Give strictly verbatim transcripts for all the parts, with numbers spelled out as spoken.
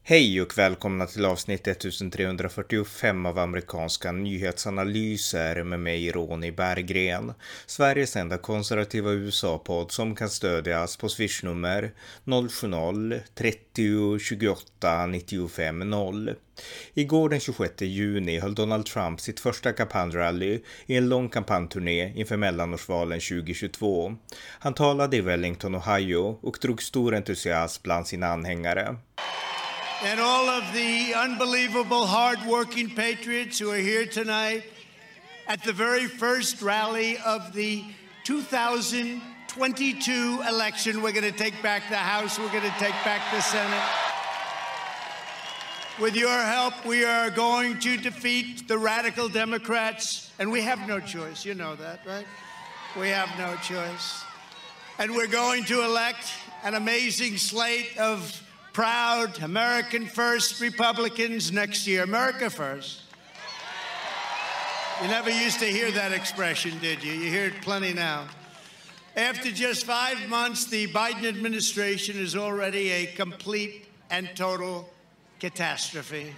Hej och välkomna till avsnitt ettusentrehundrafyrtiofem av amerikanska nyhetsanalyser med mig Ronny Berggren. Sveriges enda konservativa U S A-podd som kan stödjas på swishnummer noll sju noll trettio tjugoåtta nittiofem noll. Igår den tjugosjätte juni höll Donald Trump sitt första kampanjrally i en lång kampanjturné inför mellanårsvalen tjugohundratjugotvå. Han talade i Wellington, Ohio och drog stor entusiasm bland sina anhängare. And all of the unbelievable hard-working patriots who are here tonight at the very first rally of the two thousand twenty-two election. We're going to take back the House. We're going to take back the Senate. With your help, we are going to defeat the radical Democrats. And we have no choice. You know that, right? We have no choice. And we're going to elect an amazing slate of proud American First Republicans next year. America First. You never used to hear that expression, did you? You hear it plenty now. After just five months, the Biden administration is already a complete and total catastrophe.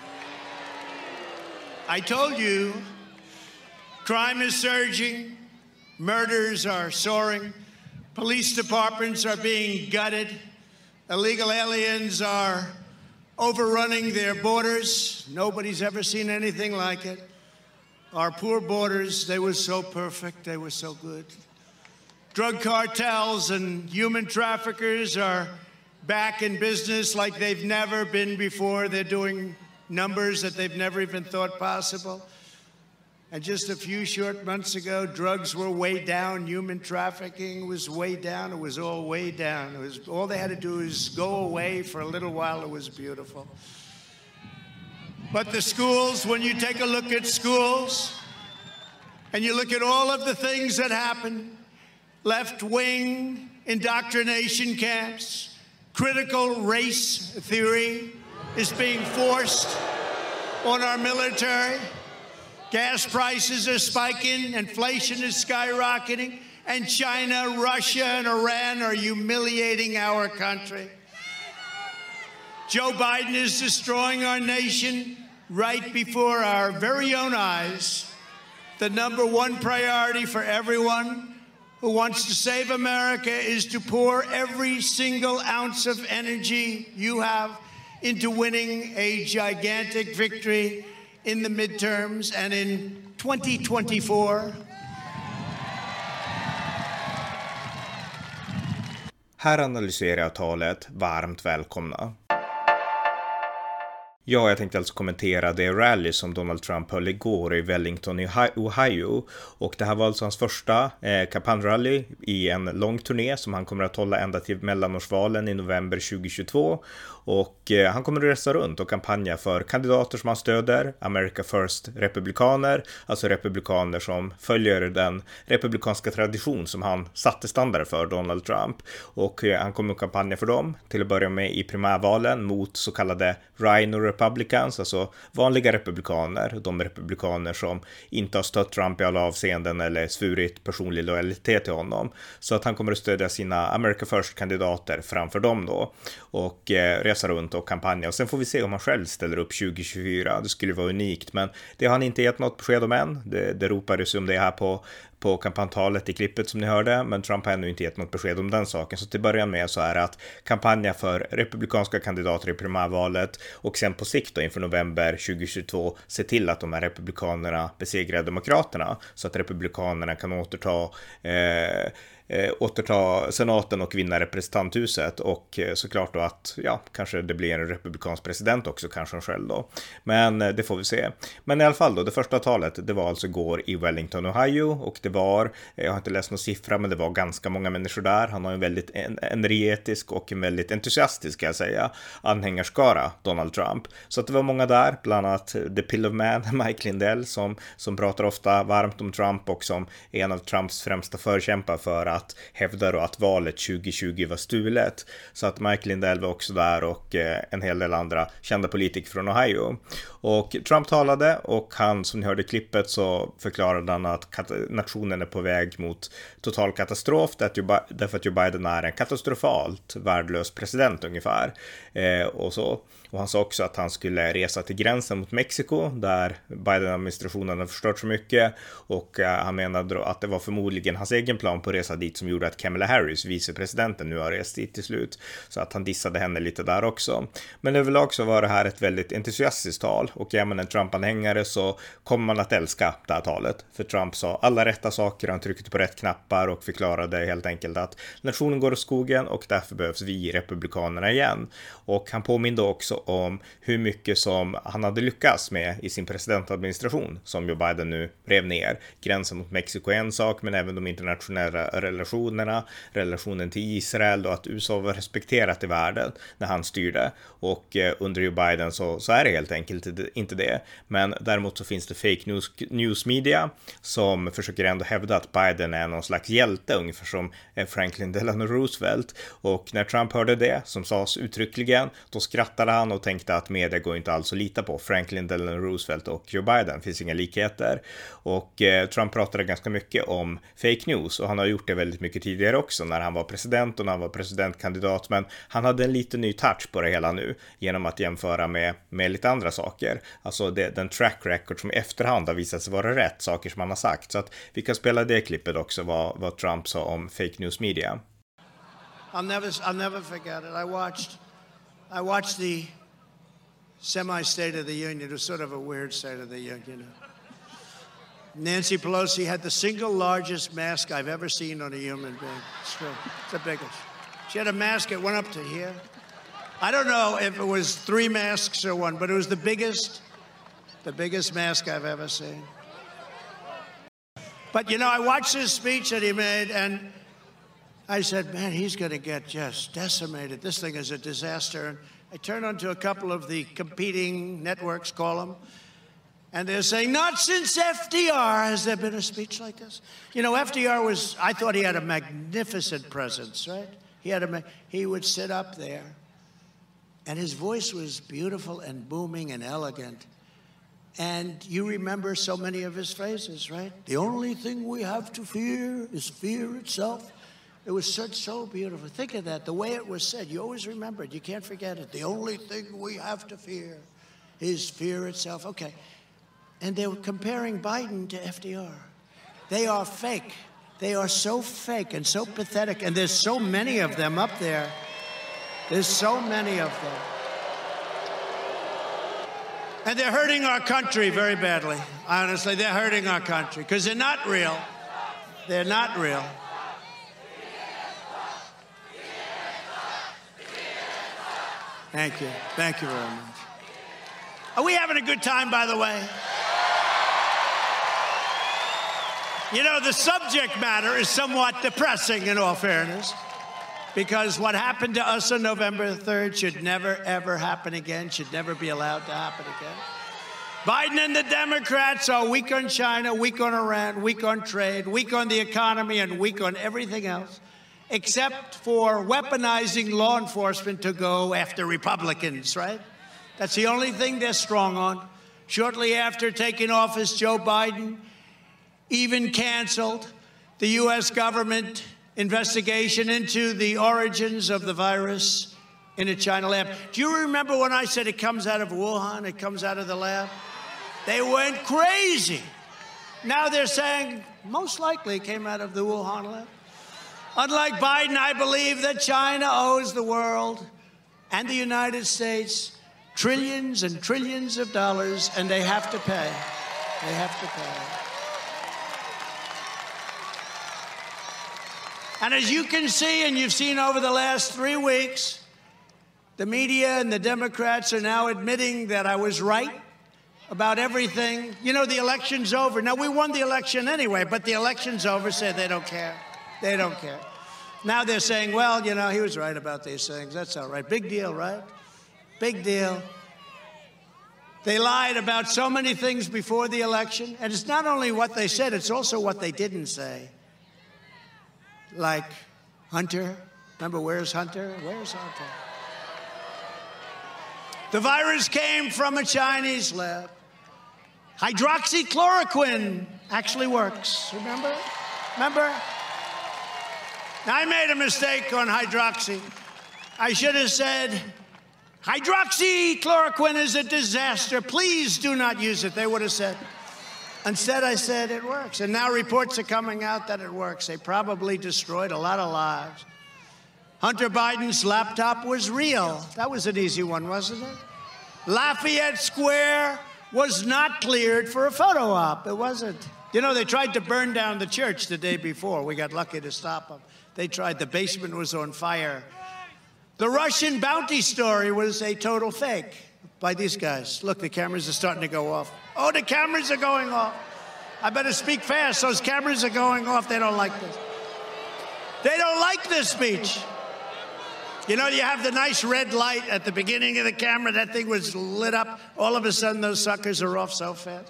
I told you, crime is surging, murders are soaring, police departments are being gutted, illegal aliens are overrunning their borders. Nobody's ever seen anything like it. Our poor borders, they were so perfect, they were so good. Drug cartels and human traffickers are back in business like they've never been before. They're doing numbers that they've never even thought possible. And just a few short months ago, drugs were way down. Human trafficking was way down. It was all way down. It was, all they had to do is go away for a little while. It was beautiful. But the schools, when you take a look at schools, and you look at all of the things that happen, left-wing indoctrination camps, critical race theory is being forced on our military. Gas prices are spiking, inflation is skyrocketing, and China, Russia, and Iran are humiliating our country. Joe Biden is destroying our nation right before our very own eyes. The number one priority for everyone who wants to save America is to pour every single ounce of energy you have into winning a gigantic victory in the midterms and in twenty twenty-four. Här analyserar jag talet. Varmt välkomna. Ja, jag tänkte alltså kommentera det rally som Donald Trump höll igår i Wellington i Ohio. Och det här var alltså hans första eh, kampanjrally i en lång turné som han kommer att hålla ända till mellanårsvalen i november tjugohundratjugotvå. Och eh, han kommer att resa runt och kampanja för kandidater som han stöder, America First republikaner, alltså republikaner som följer den republikanska tradition som han satte standard för, Donald Trump. Och eh, han kommer att kampanja för dem till att börja med i primärvalen mot så kallade Rhino Republicans, alltså vanliga republikaner, de republikaner som inte har stött Trump i alla avseenden eller svurit personlig lojalitet till honom. Så att han kommer att stödja sina America First-kandidater framför dem då och eh, resa runt och kampanja. Och sen får vi se om han själv ställer upp tjugohundratjugofyra. Det skulle vara unikt, men det har han inte gett något besked om än. Det, det ropades om det här på på kampanjtalet i klippet som ni hörde, men Trump har ännu inte gett något besked om den saken. Så till början med så är det att kampanja för republikanska kandidater i primärvalet och sen på sikt då inför november tjugohundratjugotvå se till att de här republikanerna besegrar demokraterna så att republikanerna kan återta eh, Eh, återta senaten och vinna representanthuset och eh, såklart då att ja, kanske det blir en republikansk president också, kanske själv då. Men eh, det får vi se. Men i alla fall då, det första talet, det var alltså igår i Wellington, Ohio, och det var, jag har inte läst någon siffra, men det var ganska många människor där. Han har en väldigt en, energetisk och en väldigt entusiastisk, ska jag säga, anhängarskara, Donald Trump. Så att det var många där, bland annat The Pill of Man, Mike Lindell, som, som pratar ofta varmt om Trump och som är en av Trumps främsta förkämpar för att hävda då att valet tjugohundratjugo var stulet. Så att Mike Lindell var också där och eh, en hel del andra kända politiker från Ohio. Och Trump talade och han, som ni hörde i klippet, så förklarade han att administrationen är på väg mot total katastrof därför att Joe Biden är en katastrofalt värdelös president ungefär. Eh, och så. Och han sa också att han skulle resa till gränsen mot Mexiko där Biden-administrationen har förstört så mycket, och eh, han menade att det var förmodligen hans egen plan på resa dit som gjorde att Kamala Harris, vicepresidenten, nu har rest dit till slut, så att han dissade henne lite där också. Men överlag så var det här ett väldigt entusiastiskt tal, och är man en Trump-anhängare så kommer man att älska det här talet, för Trump sa alla rätta saker, han tryckte på rätt knappar och förklarade helt enkelt att nationen går åt skogen och därför behövs vi republikanerna igen. Och han påminde också om hur mycket som han hade lyckats med i sin presidentadministration som Joe Biden nu rev ner. Gränsen mot Mexiko är en sak, men även de internationella relationerna, relationen till Israel och att U S A var respekterat i världen när han styrde. Och eh, under Joe Biden så, så är det helt enkelt inte det. Men däremot så finns det fake news, news media som försöker ändå hävda att Biden är någon slags hjälte, ungefär som Franklin Delano Roosevelt. Och när Trump hörde det, som sades uttryckligen, då skrattade han och tänkte att media går inte alls att lita på. Franklin Delano Roosevelt och Joe Biden, finns inga likheter. Och eh, Trump pratade ganska mycket om fake news, och han har gjort det väldigt mycket tidigare också när han var president och när han var presidentkandidat, men han hade en lite ny touch på det hela nu genom att jämföra med, med lite andra saker. Alltså det, den track record som i efterhand har visat sig vara rätt, saker som han har sagt. Så att vi kan spela det klippet också, vad, vad Trump sa om fake news media. I'll never, I'll never forget it. I watched, I watched the semi-State of the Union. It was sort of a weird State of the Union, you know. Nancy Pelosi had the single largest mask I've ever seen on a human being. It's true. It's the biggest. She had a mask that went up to here. I don't know if it was three masks or one, but it was the biggest, the biggest mask I've ever seen. But, you know, I watched his speech that he made, and I said, man, he's going to get just decimated. This thing is a disaster. And I turned on to a couple of the competing networks, call them, and they're saying, not since F D R has there been a speech like this. You know, F D R was, I thought he had a magnificent presence, right? He had a, he would sit up there, and his voice was beautiful and booming and elegant. And you remember so many of his phrases, right? The only thing we have to fear is fear itself. It was such so beautiful. Think of that, the way it was said. You always remember it. You can't forget it. The only thing we have to fear is fear itself. Okay. And they were comparing Biden to F D R. They are fake. They are so fake and so pathetic. And there's so many of them up there. There's so many of them. And they're hurting our country very badly. Honestly, they're hurting our country because they're not real. They're not real. Thank you. Thank you very much. Are we having a good time, by the way? You know, the subject matter is somewhat depressing, in all fairness, because what happened to us on November third should never, ever happen again, should never be allowed to happen again. Biden and the Democrats are weak on China, weak on Iran, weak on trade, weak on the economy, and weak on everything else, except for weaponizing law enforcement to go after Republicans, right? That's the only thing they're strong on. Shortly after taking office, Joe Biden even canceled the U S government investigation into the origins of the virus in a China lab. Do you remember when I said it comes out of Wuhan, it comes out of the lab? They went crazy. Now they're saying most likely it came out of the Wuhan lab. Unlike Biden, I believe that China owes the world and the United States trillions and trillions of dollars, and they have to pay. They have to pay. And as you can see, and you've seen over the last three weeks, the media and the Democrats are now admitting that I was right about everything. You know, the election's over. Now, we won the election anyway, but the election's over, so they don't care. They don't care. Now they're saying, well, you know, he was right about these things. That's all right. Big deal, right? Big deal. They lied about so many things before the election. And it's not only what they said, it's also what they didn't say. Like Hunter. Remember, where's Hunter? Where's Hunter? The virus came from a Chinese lab. Hydroxychloroquine actually works. Remember? Remember? I made a mistake on hydroxy. I should have said, hydroxychloroquine is a disaster. Please do not use it, they would have said. Instead, I said it works. And now reports are coming out that it works. They probably destroyed a lot of lives. Hunter Biden's laptop was real. That was an easy one, wasn't it? Lafayette Square was not cleared for a photo op. It wasn't. You know, they tried to burn down the church the day before. We got lucky to stop them. They tried. The basement was on fire. The Russian bounty story was a total fake by these guys. Look, the cameras are starting to go off. Oh, the cameras are going off. I better speak fast. Those cameras are going off. They don't like this. They don't like this speech. You know, you have the nice red light at the beginning of the camera. That thing was lit up. All of a sudden, those suckers are off so fast.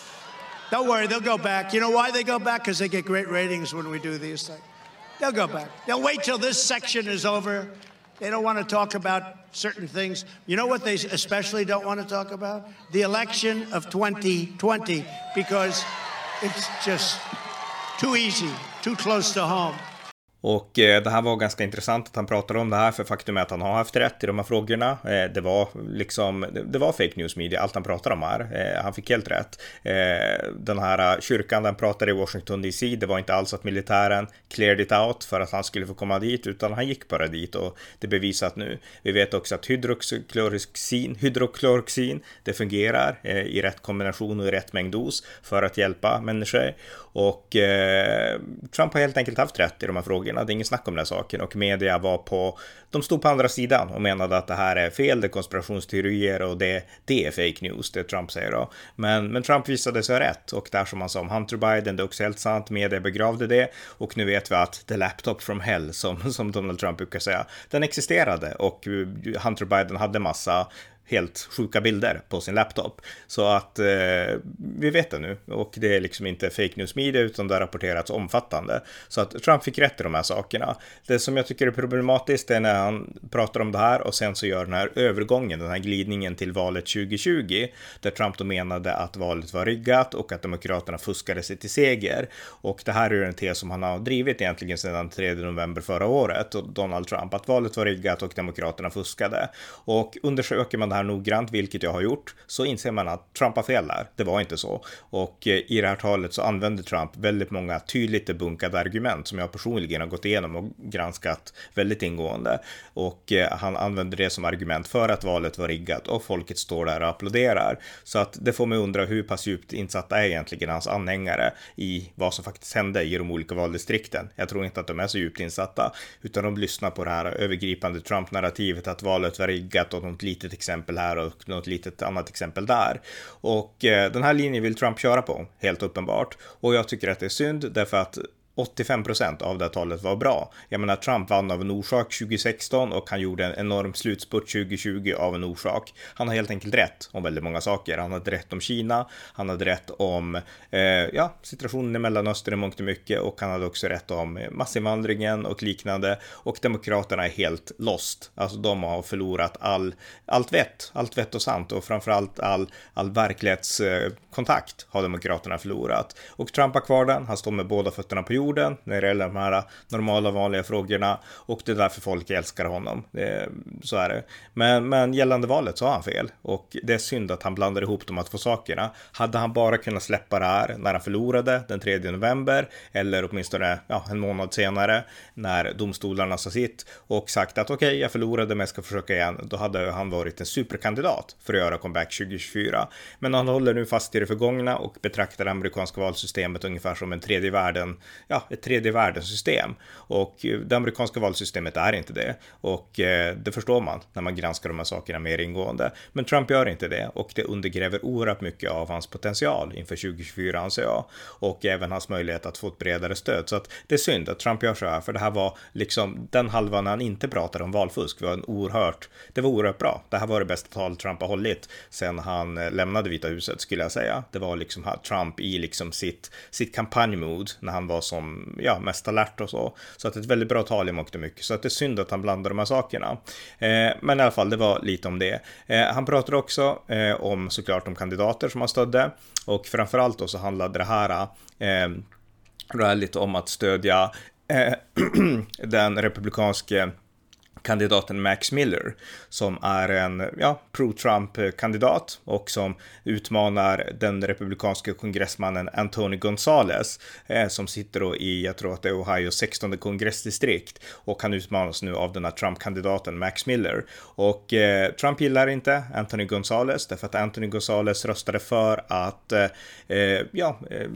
Don't worry, they'll go back. You know why they go back? Because they get great ratings when we do these things. They'll go back. They'll wait till this section is over. They don't want to talk about certain things. You know what they especially don't want to talk about? The election of twenty twenty, because it's just too easy, too close to home. Och eh, det här var ganska intressant att han pratade om det här, för faktum är att han har haft rätt i de här frågorna. Eh, det var liksom, det, det var fake news media, allt han pratade om här. Eh, han fick helt rätt. Eh, den här kyrkan den pratade i Washington D C, det var inte alls att militären cleared it out för att han skulle få komma dit, utan han gick bara dit, och det är bevisat nu. Vi vet också att hydroxychloroxin, hydroxychloroxin det fungerar eh, i rätt kombination och i rätt mängd dos för att hjälpa människor. Och eh, Trump har helt enkelt haft rätt i de här frågorna. Det är ingen snack om den här saken, och media var på, de stod på andra sidan och menade att det här är fel, det är konspirationsteorier och det, det är fake news, det Trump säger då. Men, men Trump visade sig rätt, och där som han sa om Hunter Biden, det är också helt sant, media begravde det, och nu vet vi att the laptop from hell, som, som Donald Trump brukar säga, den existerade, och Hunter Biden hade massa helt sjuka bilder på sin laptop. Så att eh, vi vet det nu, och det är liksom inte fake news media, utan det har rapporterats omfattande. Så att Trump fick rätt i de här sakerna. Det som jag tycker är problematiskt är när han pratar om det här och sen så gör den här övergången, den här glidningen till valet tjugo tjugo, där Trump då menade att valet var riggat och att demokraterna fuskade sig till seger. Och det här är en tes som han har drivit egentligen sedan tredje november förra året, och Donald Trump, att valet var riggat och demokraterna fuskade. Och undersöker man det här noggrant, vilket jag har gjort, så inser man att Trump har fel där. Det var inte så. Och eh, i det här talet så använde Trump väldigt många tydligt debunkade argument som jag personligen har gått igenom och granskat väldigt ingående. Och eh, han använde det som argument för att valet var riggat, och folket står där och applåderar. Så att det får mig undra hur pass djupt insatta är egentligen hans anhängare i vad som faktiskt hände i de olika valdistrikten. Jag tror inte att de är så djupt insatta, utan de lyssnar på det här övergripande Trump-narrativet att valet var riggat, och något litet exempel här och något litet annat exempel där. Och eh, den här linjen vill Trump köra på, helt uppenbart. Och jag tycker att det är synd, därför att åttiofem procent av det här talet var bra. Jag menar, Trump vann av en orsak tjugo sexton, och han gjorde en enorm slutspurt tjugo tjugo av en orsak. Han har helt enkelt rätt om väldigt många saker. Han hade rätt om Kina, han hade rätt om eh, ja, situationen i Mellanöstern i mångt och mycket, och han hade också rätt om massinvandringen och liknande. Och demokraterna är helt lost. Alltså de har förlorat all, allt vett, allt vett och sant, och framförallt all, all verklighetskontakt har demokraterna förlorat. Och Trump har kvar den, han står med båda fötterna på jorden när det gäller de här normala vanliga frågorna, och det är därför folk älskar honom. Det, så är det. Men, men gällande valet så har han fel, och det är synd att han blandar ihop de här två sakerna. Hade han bara kunnat släppa det här när han förlorade den tredje november, eller åtminstone ja, en månad senare när domstolarna sa sitt och sagt att okej, okay, jag förlorade men jag ska försöka igen, då hade han varit en superkandidat för att göra comeback tjugo tjugofyra. Men han håller nu fast i det förgångna och betraktar det amerikanska valsystemet ungefär som en tredje världen ja, ett tredje världens system, och det amerikanska valsystemet är inte det, och eh, det förstår man när man granskar de här sakerna mer ingående. Men Trump gör inte det, och det undergräver oerhört mycket av hans potential inför tjugo tjugofyra, anser jag, och även hans möjlighet att få ett bredare stöd. Så att det är synd att Trump gör så här, för det här var liksom den halvan när han inte pratade om valfusk. Det var en oerhört, det var oerhört bra. Det här var det bästa tal Trump har hållit sen han lämnade Vita huset, skulle jag säga. Det var liksom Trump i liksom sitt, sitt kampanjmod när han var som som ja, mest alert och så. Så att det är ett väldigt bra tal i mångt och mycket. Så att det är synd att han blandar de här sakerna. Eh, men i alla fall, det var lite om det. Eh, han pratade också eh, om såklart de kandidater som han stödde. Och framförallt då så handlade det här eh, rallyt om att stödja eh, den republikanske kandidaten Max Miller som är en ja, pro-Trump-kandidat och som utmanar den republikanska kongressmannen Anthony Gonzalez eh, som sitter då i, jag tror att det är Ohio sextonde kongressdistrikt, och han utmanas nu av den här Trump-kandidaten Max Miller. Och eh, Trump gillar inte Anthony Gonzalez därför att Anthony Gonzalez röstade för att eh, ja,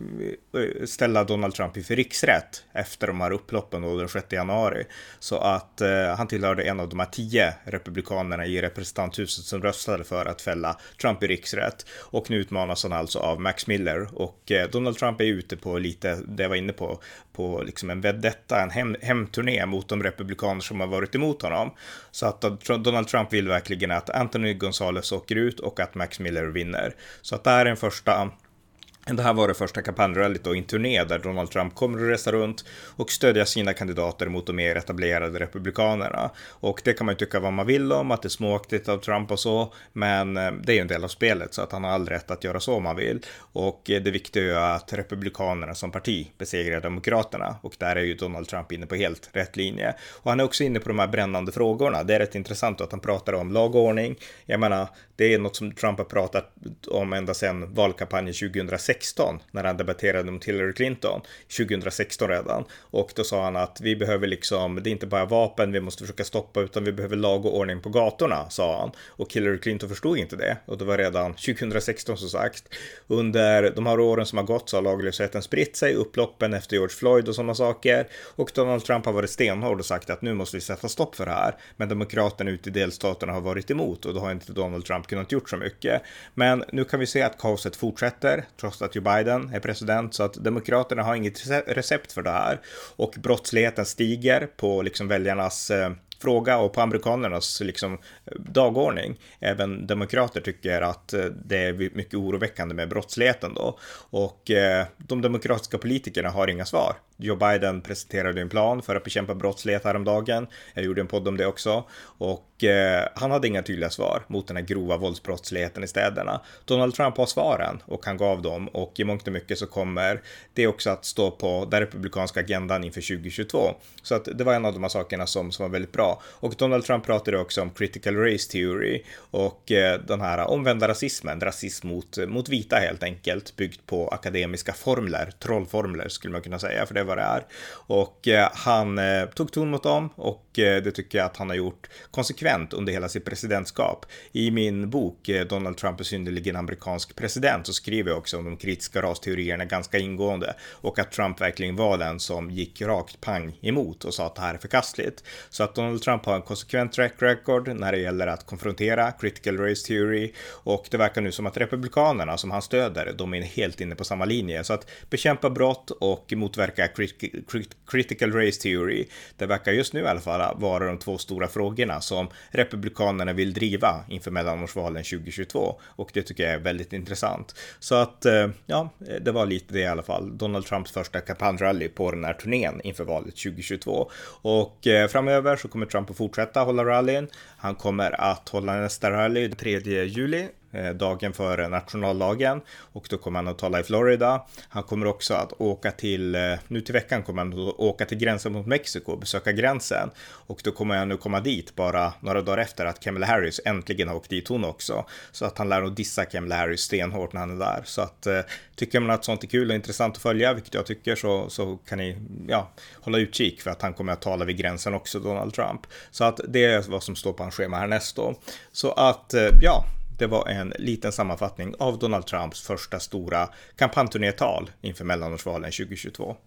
eh, ställa Donald Trump inför riksrätt efter de här upploppen då den sjätte januari. Så att eh, han tillhör en av de här tio republikanerna i representanthuset som röstade för att fälla Trump i riksrätt, och nu utmanas han alltså av Max Miller. Och eh, Donald Trump är ute på lite, det jag var inne på, på liksom en vedetta, en hem, hemturné mot de republikaner som har varit emot honom. Så att Donald Trump vill verkligen att Anthony Gonzalez åker ut och att Max Miller vinner. Så att det här är en första Det här var det första kampanjrallyt och en turné där Donald Trump kommer att resa runt och stödja sina kandidater mot de mer etablerade republikanerna. Och det kan man ju tycka vad man vill om, att det är småaktigt av Trump och så, men det är ju en del av spelet så att han har all rätt att göra så om han vill. Och det viktiga är ju att republikanerna som parti besegrar demokraterna, och där är ju Donald Trump inne på helt rätt linje. Och han är också inne på de här brännande frågorna. Det är rätt intressant att han pratar om lag och ordning. Jag menar, det är något som Trump har pratat om ända sedan valkampanjen tjugohundrasexton när han debatterade mot Hillary Clinton tjugohundrasexton redan. Och då sa han att vi behöver liksom, det är inte bara vapen vi måste försöka stoppa, utan vi behöver lag och ordning på gatorna, sa han. Och Hillary Clinton förstod inte det. Och det var redan tjugohundrasexton som sagt. Under de här åren som har gått så har laglösheten spritt sig, upploppen efter George Floyd och sådana saker. Och Donald Trump har varit stenhård och sagt att nu måste vi sätta stopp för det här. Men demokraterna ute i delstaterna har varit emot, och då har inte Donald Trump kunnat gjort så mycket. Men nu kan vi se att kaoset fortsätter trots att Joe Biden är president, så att demokraterna har inget recept för det här, och brottsligheten stiger på liksom väljarnas eh, fråga och på amerikanernas liksom dagordning. Även demokrater tycker att det är mycket oroväckande med brottsligheten då, och eh, de demokratiska politikerna har inga svar. Joe Biden presenterade en plan för att bekämpa brottslighet häromdagen. Jag gjorde en podd om det också. Och eh, han hade inga tydliga svar mot den här grova våldsbrottsligheten i städerna. Donald Trump har svaren och han gav dem. Och i mångt och mycket så kommer det också att stå på den republikanska agendan inför tjugohundratjugotvå. Så att det var en av de här sakerna som, som var väldigt bra. Och Donald Trump pratade också om critical race theory och eh, den här omvända rasismen. Rasism mot, mot vita helt enkelt. Byggt på akademiska formler. Trollformler skulle man kunna säga, för det vad det är. Och eh, han eh, tog ton mot dem, och eh, det tycker jag att han har gjort konsekvent under hela sitt presidentskap. I min bok eh, Donald Trump är synnerligen amerikansk president så skriver jag också om de kritiska rasteorierna ganska ingående, och att Trump verkligen var den som gick rakt pang emot och sa att det här är förkastligt. Så att Donald Trump har en konsekvent track record när det gäller att konfrontera critical race theory, och det verkar nu som att republikanerna som han stöder, de är helt inne på samma linje. Så att bekämpa brott och motverka critical race theory, det verkar just nu i alla fall vara de två stora frågorna som republikanerna vill driva inför mellanårsvalen tjugohundratjugotvå, och det tycker jag är väldigt intressant. Så att ja, det var lite det i alla fall. Donald Trumps första kampanjrally på den här turnén inför valet tjugohundratjugotvå, och framöver så kommer Trump att fortsätta hålla rallyn. Han kommer att hålla nästa rally den tredje juli, dagen före nationaldagen, och då kommer han att tala i Florida. Han kommer också att åka till, nu till veckan kommer han att åka till gränsen mot Mexiko och besöka gränsen, och då kommer han nu komma dit bara några dagar efter att Kamala Harris äntligen har åkt dit hon också, så att han lär att dissa Kamala Harris stenhårt när han är där. Så att tycker man att sånt är kul och intressant att följa, vilket jag tycker, så, så kan ni ja, hålla utkik för att han kommer att tala vid gränsen också, Donald Trump. Så att det är vad som står på hans schema härnäst då. Så att ja, det var en liten sammanfattning av Donald Trumps första stora kampanjturnétal inför mellanårsvalen tjugohundratjugotvå.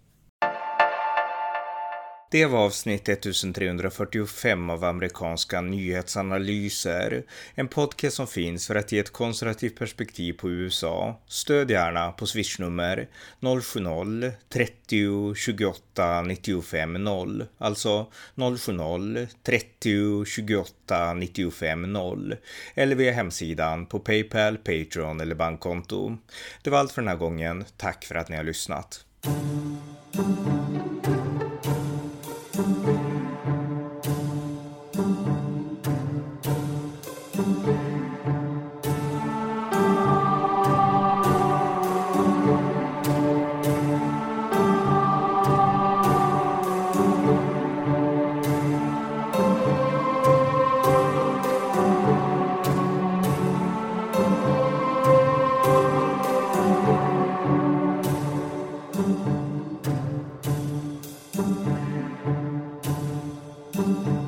Det var avsnitt ettusentrehundrafyrtiofem av amerikanska nyhetsanalyser. En podcast som finns för att ge ett konservativt perspektiv på U S A. Stöd gärna på swishnummer noll sju noll trettio tjugoåtta nittiofem noll. Alltså noll sju noll trettio tjugoåtta nittiofem noll. Eller via hemsidan på PayPal, Patreon eller bankkonto. Det var allt för den här gången. Tack för att ni har lyssnat. Thank you.